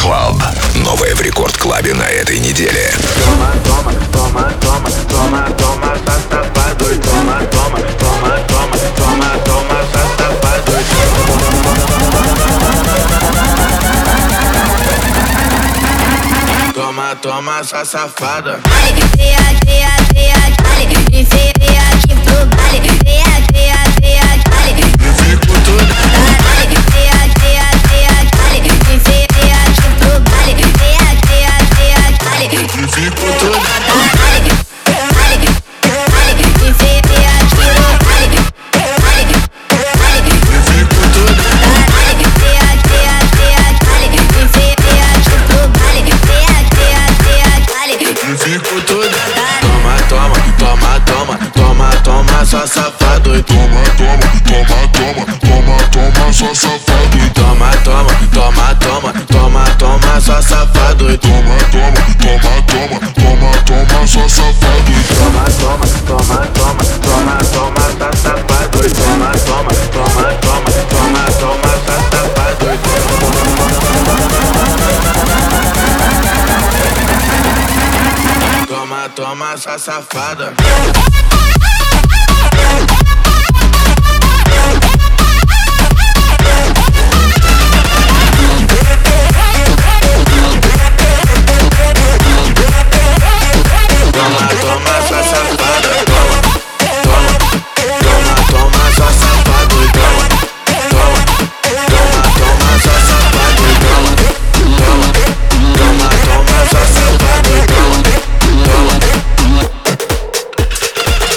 Club. Новое в Рекорд Клабе на этой неделе. Toma, toma, toma, toma, toma, toma, tá safado. Toma, toma, toma, toma, toma, toma, tá safado. Toma, toma, essa safada. Vem aqui pro baile. Vem aqui, Eu fico todo. vem aqui pro baile. Vem aqui, Eu fico todo. Eu fico todo. Toma, toma, toma, toma, toma, toma, só safado. Toma, toma, toma, toma, toma, toma, só safado. Toma, toma, toma, toma, toma, toma, só safado. Toma, toma, toma, toma, toma, toma, só safado. Toma, toma, toma, toma, toma, toma, tá safado. Toma, toma, toma, toma, toma, toma, tá safado. Toma, toma, essa safada. Toma, toma, essa safada. Toma, toma, toma, toma, essa safada. Toma, toma, toma, toma, essa safada. Toma, toma, toma, toma, essa safada. Toma, toma.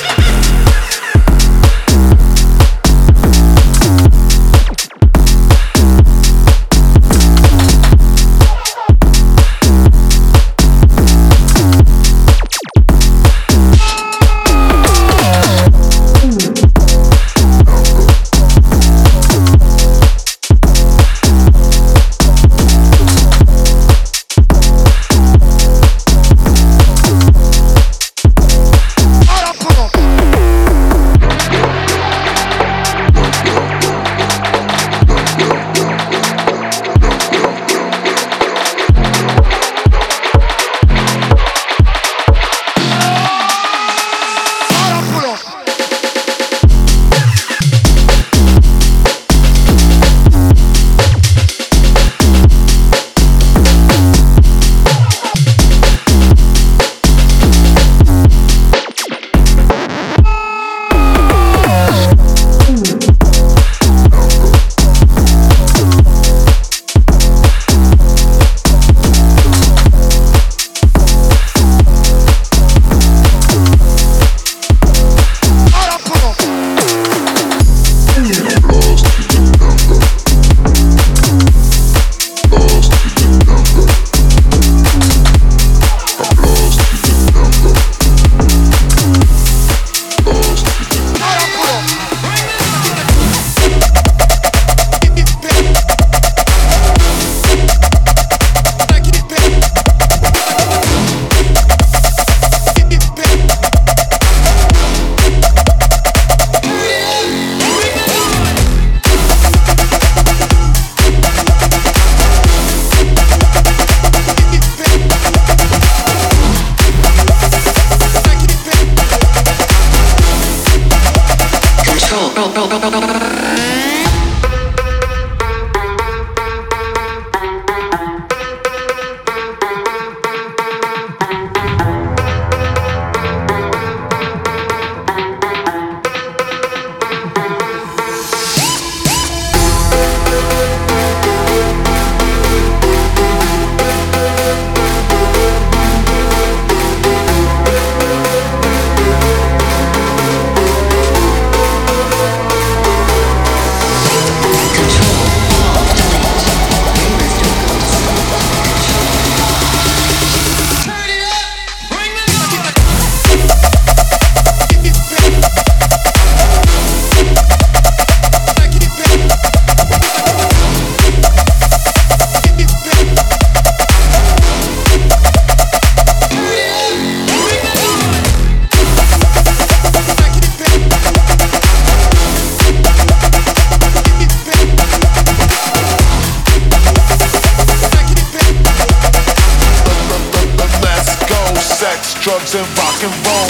drugs, and rock and roll.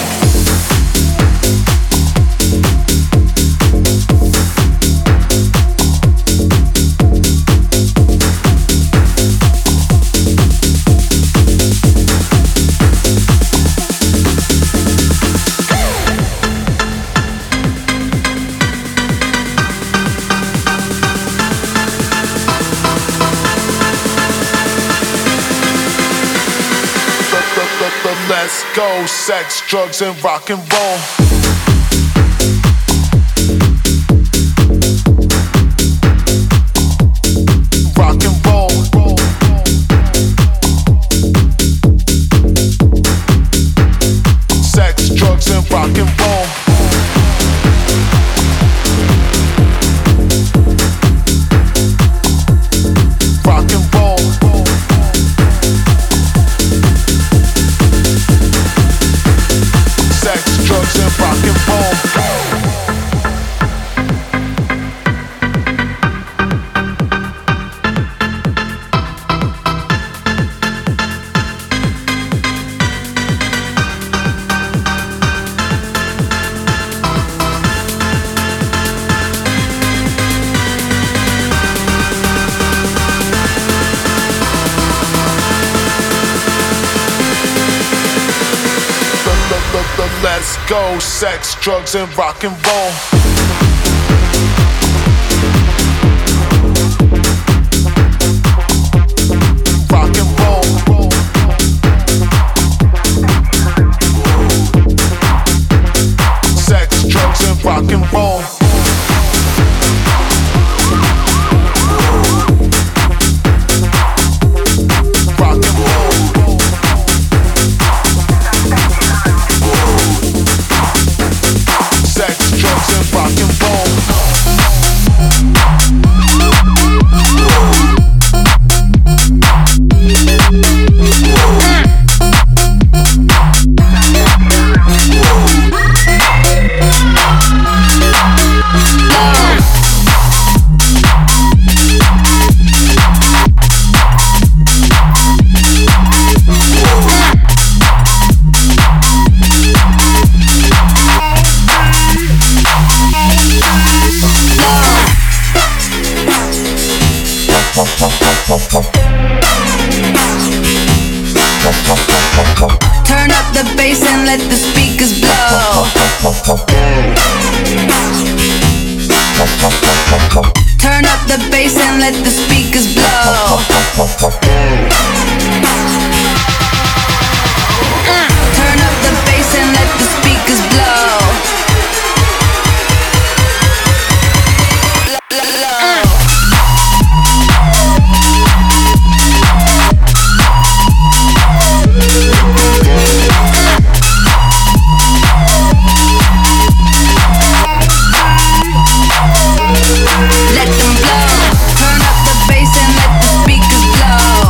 Let's go, sex, drugs, and rock and roll. Rock and roll. Sex, drugs, and rock and roll. Rock and roll. Sex, drugs, and rock and roll. Let's go, sex, drugs, and rock and roll. Rock and roll. Sex, drugs, and rock and roll. Rock and roll. Sex, drugs, and rock and roll. Turn up the bass and let the speakers blow. Turn up the bass and let the speakers blow. Turn up the bass and let the speakers blow. Let them blow. Turn up the bass and let the speakers blow.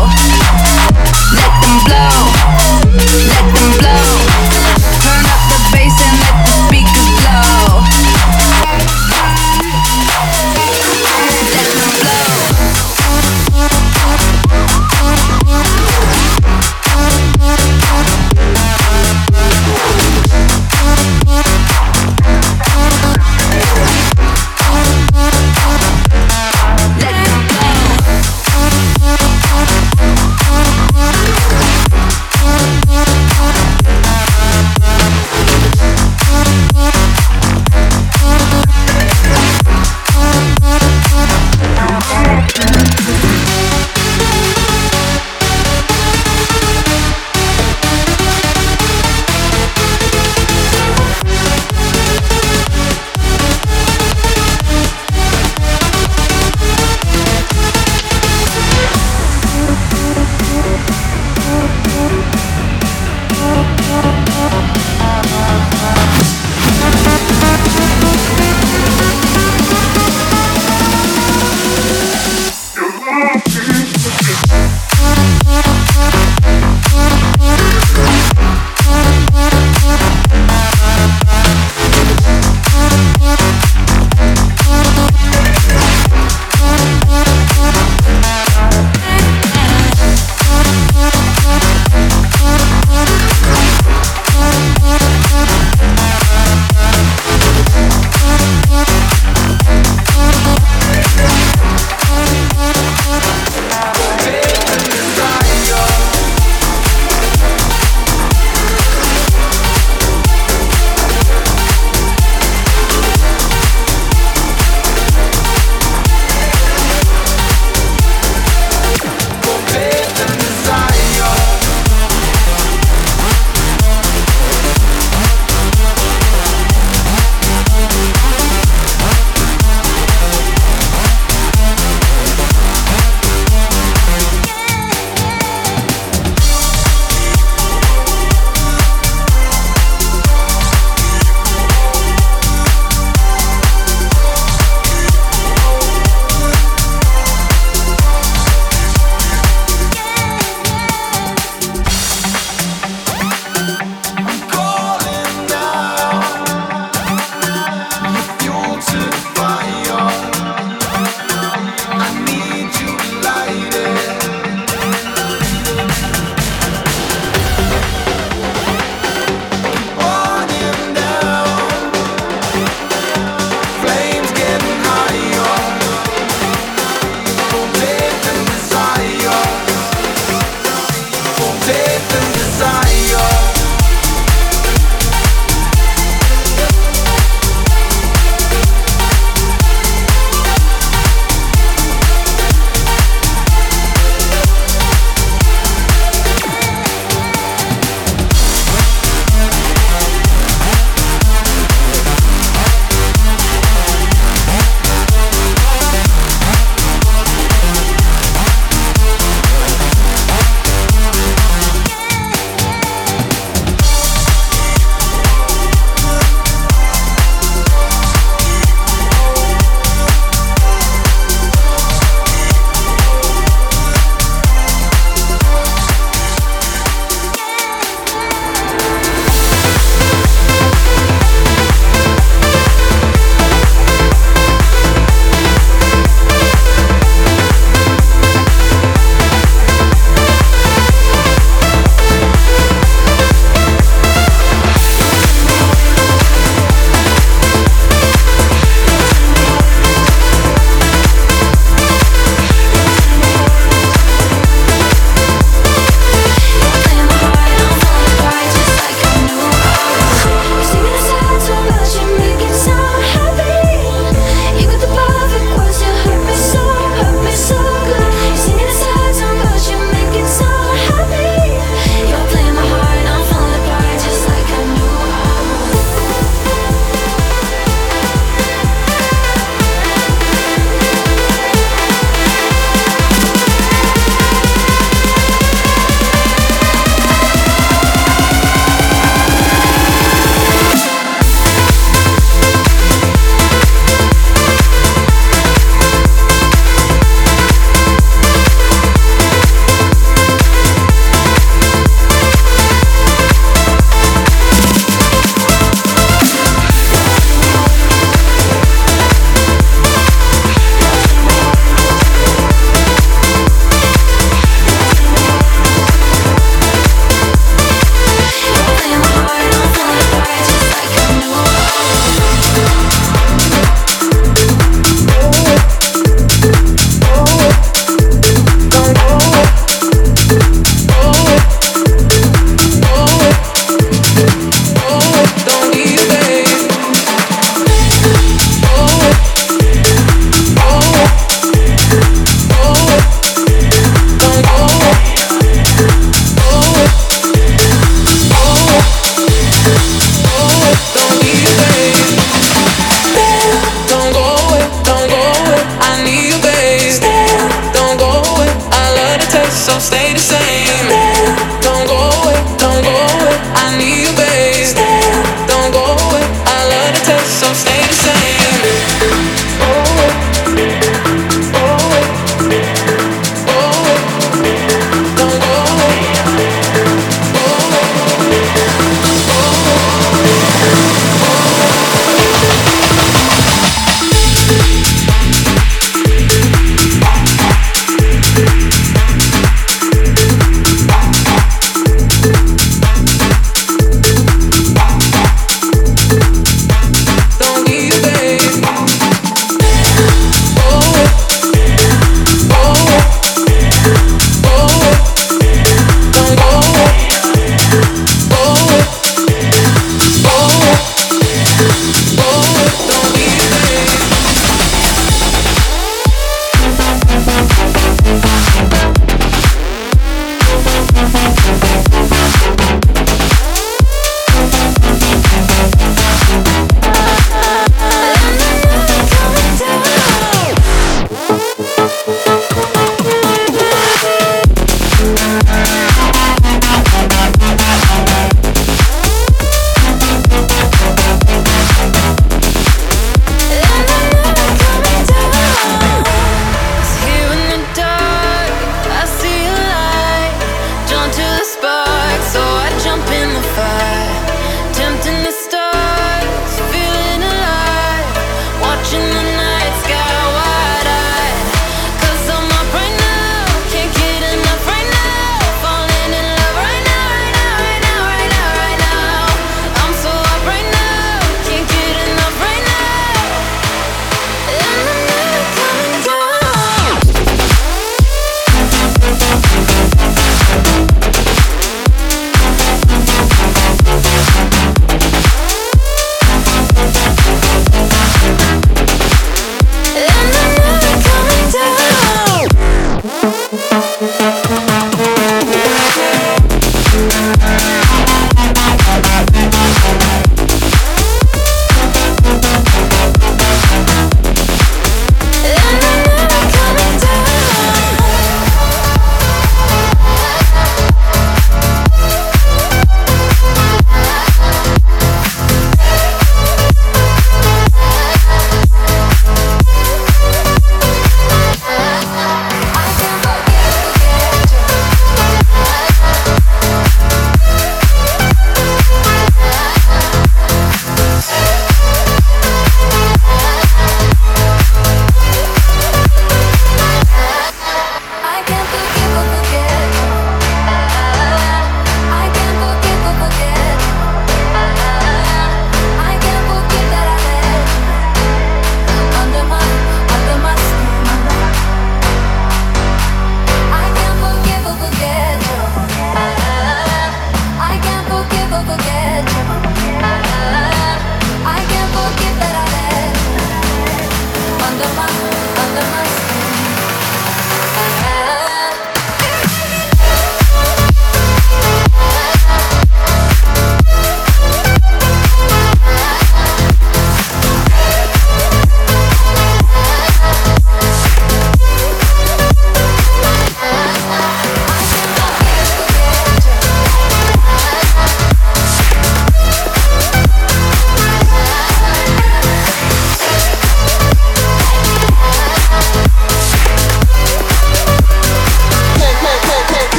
test, so stay the same. Don't go away, don't go away. I need you, babe. Don't go away. I love the taste, so stay the same. Go away, go away, go away. Don't go away, go away, go away.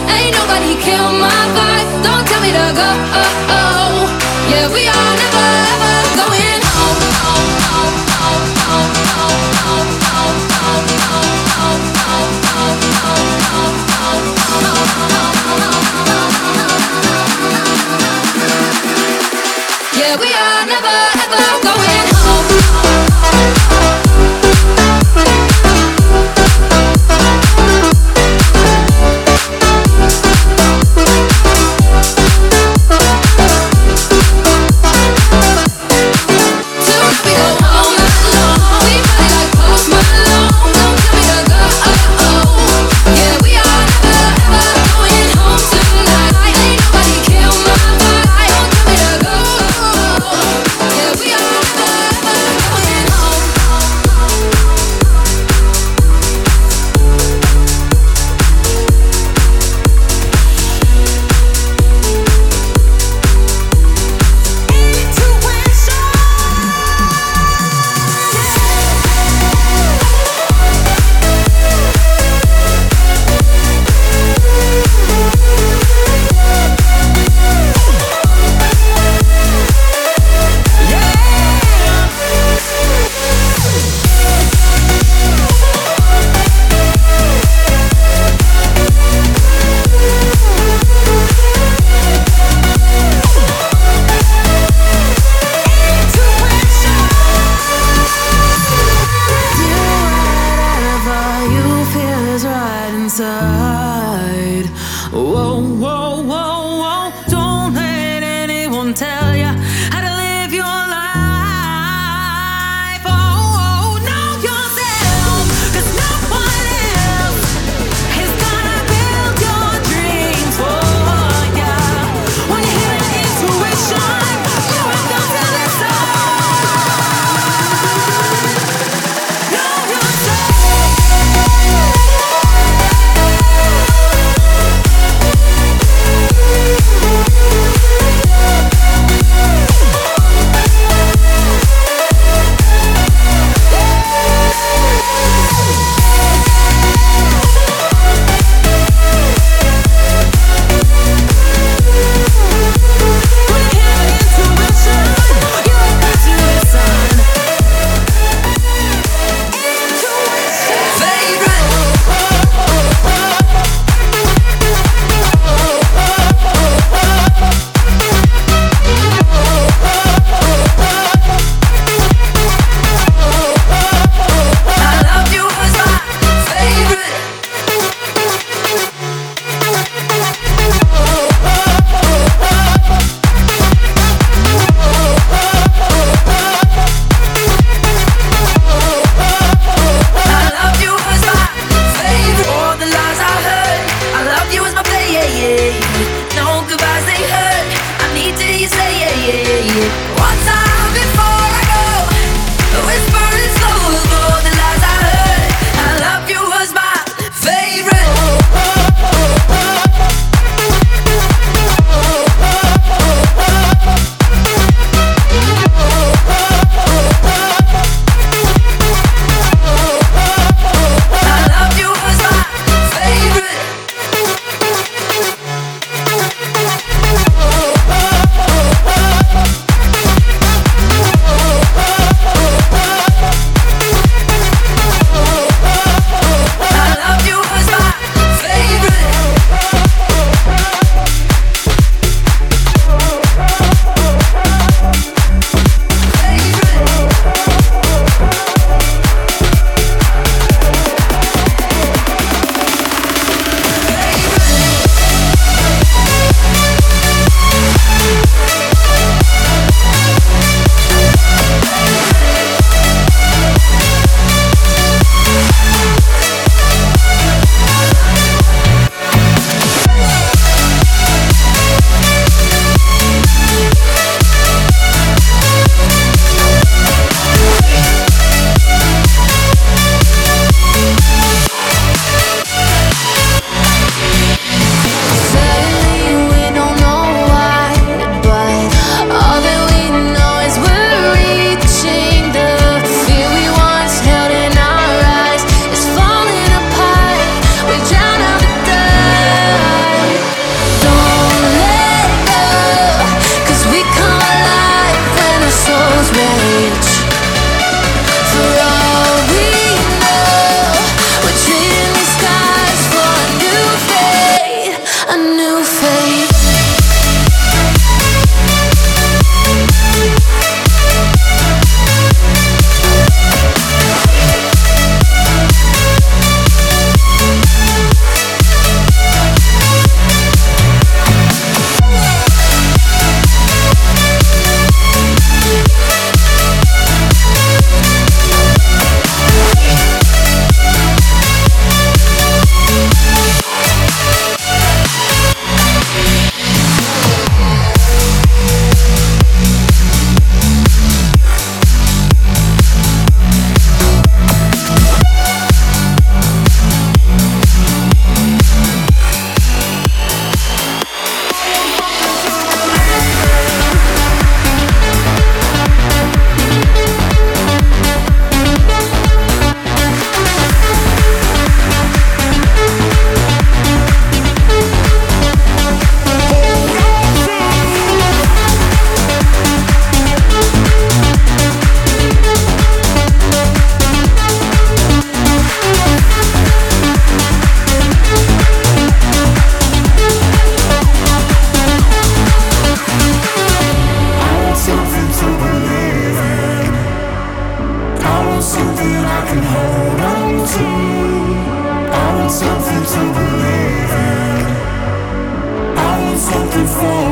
Ain't nobody kill my vibe. Don't tell me to go. Yeah, we are never ever going home. Yeah, we are never ever going home. inside.